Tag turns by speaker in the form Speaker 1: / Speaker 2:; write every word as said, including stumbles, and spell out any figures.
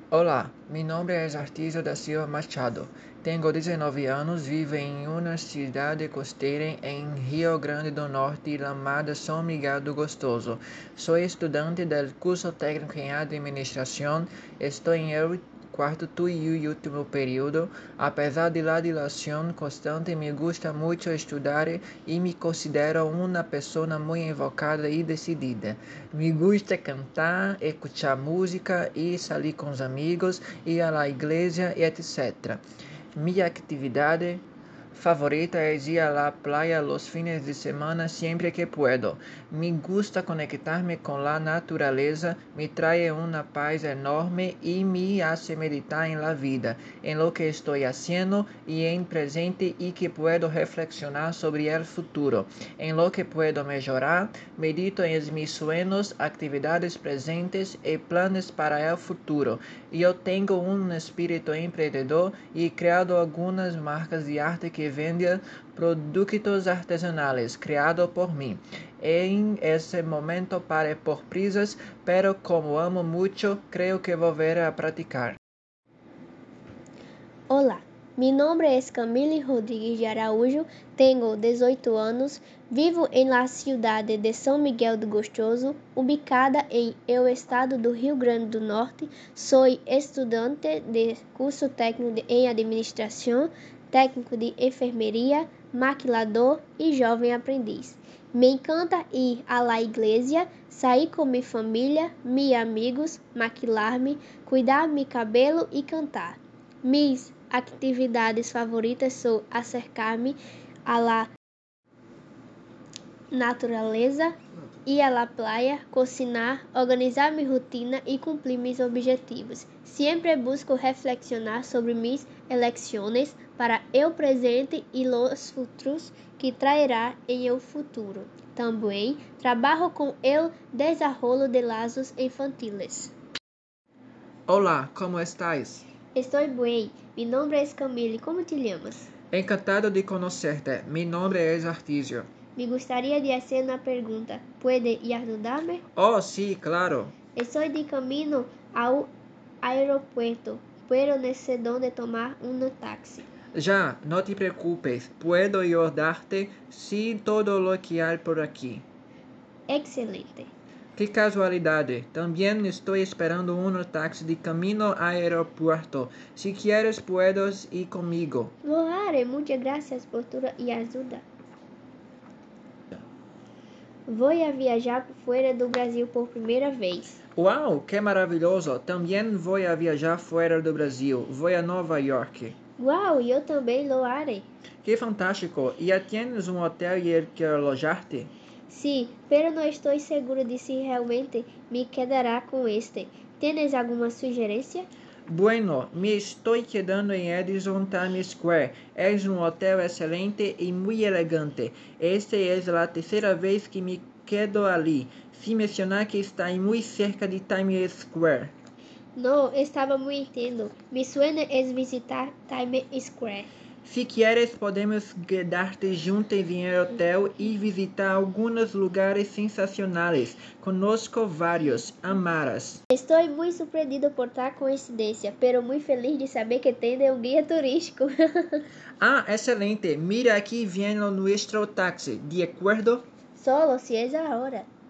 Speaker 1: Olá, meu nome é Artísio da Silva Machado. Tenho dezenove anos, vivo em uma cidade costeira em Rio Grande do Norte chamada São Miguel do Gostoso. Sou estudante do curso técnico em administração. Estou em el quarto e último período. Apesar de la dilação constante, me gusta muito estudar e me considero uma pessoa muito enfocada e decidida. Me gusta cantar, escutar música e sair com os amigos, ir à igreja e etcétera. Minha atividade favorita é ir à praia los fines de semana sempre que puedo. Me gusta conectar-me com a natureza, me trae uma paz enorme e me hace meditar em la vida, em lo que estou haciendo e em presente e que puedo reflexionar sobre el futuro, em lo que puedo melhorar, medito em mis sueños, atividades presentes e planos para el futuro. Eu tenho um espírito empreendedor e criado algumas marcas de arte que vendem produtos artesanais criados por mim. Em esse momento parei por prisas, pero como amo muito, creio que volveré a praticar.
Speaker 2: Olá, meu nome é Camille Rodrigues de Araújo, tenho dezoito anos, vivo em la cidade de São Miguel do Gostoso, ubicada em el estado do Rio Grande do Norte. Sou estudante de curso técnico em administração, técnico de enfermeria, maquilador e jovem aprendiz. Me encanta ir à la igreja, sair com minha família, meus amigos, maquilar-me, cuidar meu cabelo e cantar. Minhas atividades favoritas são acercar-me à la natureza, ir à la praia, cozinhar, organizar minha rotina e cumprir meus objetivos. Sempre busco reflexionar sobre minhas eleições para o presente e os futuros que trairá em o futuro. Também trabalho com o desenrolo de laços infantiles.
Speaker 1: Olá, como estás?
Speaker 2: Estou bem. Meu nome é Camille. Como te chamas?
Speaker 1: Encantado de conhecerte. Meu nome é Artísio.
Speaker 2: Me gostaria de fazer uma pergunta. Pode ajudar-me?
Speaker 1: Oh, sí, claro.
Speaker 2: Estou de caminho ao aeropuerto, pero não sei onde tomar um táxi.
Speaker 1: Já, no te preocupes, puedo ayudarte si todo lo que hay por aquí.
Speaker 2: Excelente.
Speaker 1: Que casualidade, também estou esperando um táxi de caminho ao aeropuerto. Si quieres, puedes ir comigo.
Speaker 2: Lo haré. Muchas gracias por tu ajuda. Vou a viajar fora do Brasil por primeira vez.
Speaker 1: Uau, que maravilhoso! Também vou a viajar fora do Brasil. Vou a Nova York.
Speaker 2: Uau, eu também lo haré.
Speaker 1: Que fantástico! E já tienes um hotel e el que alojarte?
Speaker 2: Sim, pero não estou seguro de se realmente me quedará com este. Tienes alguma sugerência?
Speaker 1: Bueno, me estou quedando em Edison Times Square. É um hotel excelente e muito elegante. Esta é a terceira vez que me quedo ali. Se mencionar que está muito cerca de Times Square.
Speaker 2: Não, estava muito entendo. Mi sueño es visitar Times Square.
Speaker 1: Se quieres, podemos quedarte juntos em el hotel e visitar alguns lugares sensacionais. Conozco vários, amarás.
Speaker 2: Estou muito surpreendido por tal coincidência, pero muito feliz de saber que tem um guia turístico.
Speaker 1: Ah, excelente. Mira, aqui vem o nosso táxi, de acordo?
Speaker 2: Solo si es ahora.